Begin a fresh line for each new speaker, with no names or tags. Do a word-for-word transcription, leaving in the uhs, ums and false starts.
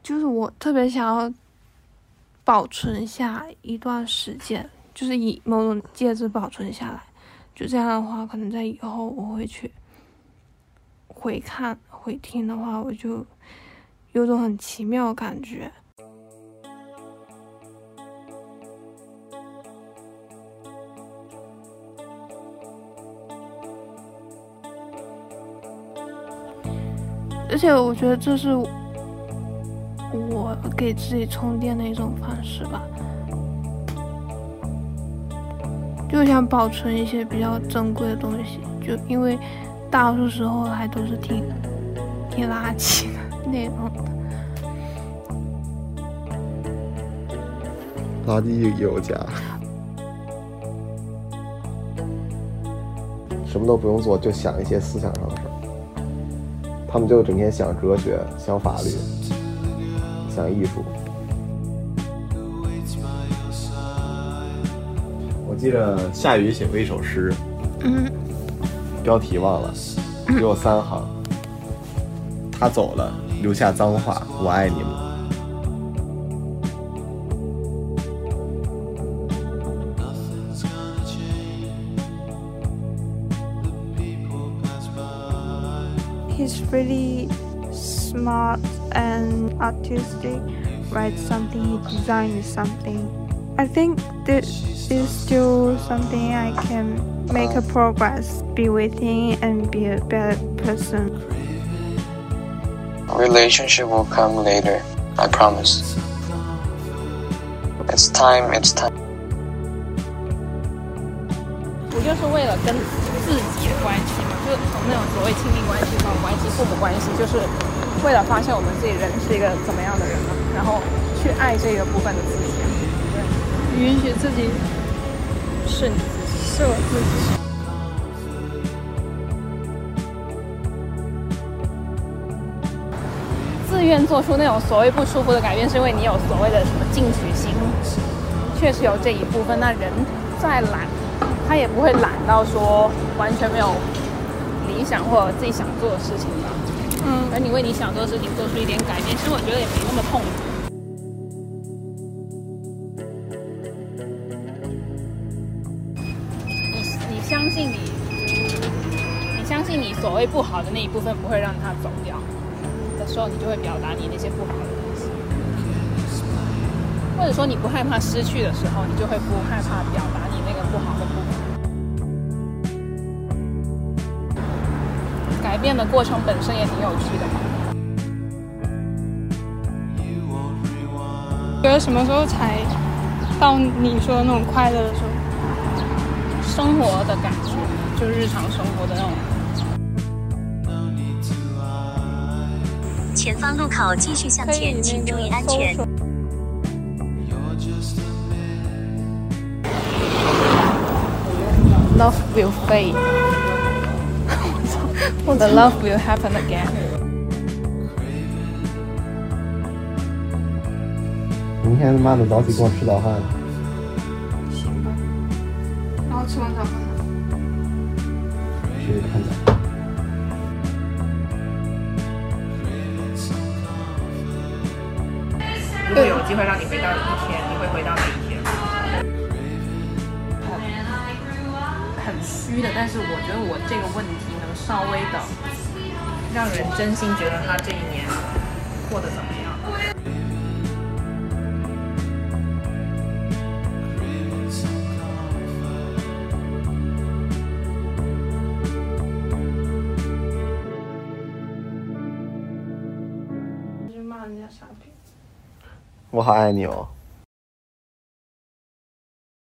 就是我特别想要保存下一段时间，就是以某种介质保存下来，就这样的话，可能在以后我会去回看回听的话，我就有种很奇妙的感觉。而且我觉得这是我给自己充电的一种方式吧，就想保存一些比较珍贵的东西，就因为大多数时候还都是挺挺垃圾的内容的。
垃圾有家，什么都不用做，就想一些思想上的事儿。他们就整天想哲学，想法律，想艺术。我记得夏雨写过一首诗，
嗯，
标题忘了，只有三行。他走了，留下脏话，我爱你们。
He's really smart and artistic, writes something, he designs something. I think this is still something I can make a progress, be with him and be a better person.
Relationship will come later, I promise. It's time, it's time.
我就是为了跟自己的关系嘛，就是从那种所谓亲密关系、朋友关系、父母关系，就是为了发现我们自己人是一个怎么样的人嘛，然后去爱这个部分的自己，对，允许自己是你自己，是我自己。自愿做出那种所谓不舒服的改变，是因为你有所谓的什么进取心，确实有这一部分。那人再懒，他也不会懒到说完全没有理想或者自己想做的事情吧。嗯，而你为你想做的事情做出一点改变，其实我觉得也没那么痛苦。你你相信你，你相信你所谓不好的那一部分不会让它走掉的时候，你就会表达你那些不好的东西。或者说你不害怕失去的时候，你就会不害怕表达你那个不好的部分。改变的过程本身也挺有趣的嘛。
觉得什么时候才到你说的那种快乐的时候？
生活的感觉，就日常生活的那种。
前方路口继续向前，请注意安全。
Love will fade. The love will happen again.
明天他妈的早起跟我吃早饭。
行吧。然后吃完早饭呢？
去看展。
如果有机会让你回到一天，你会回到哪一天？很虚的，但是我觉得我这个问题能稍微的让人真心觉得他这一年过得怎么样。
你就骂人家傻逼。
我好爱你哦。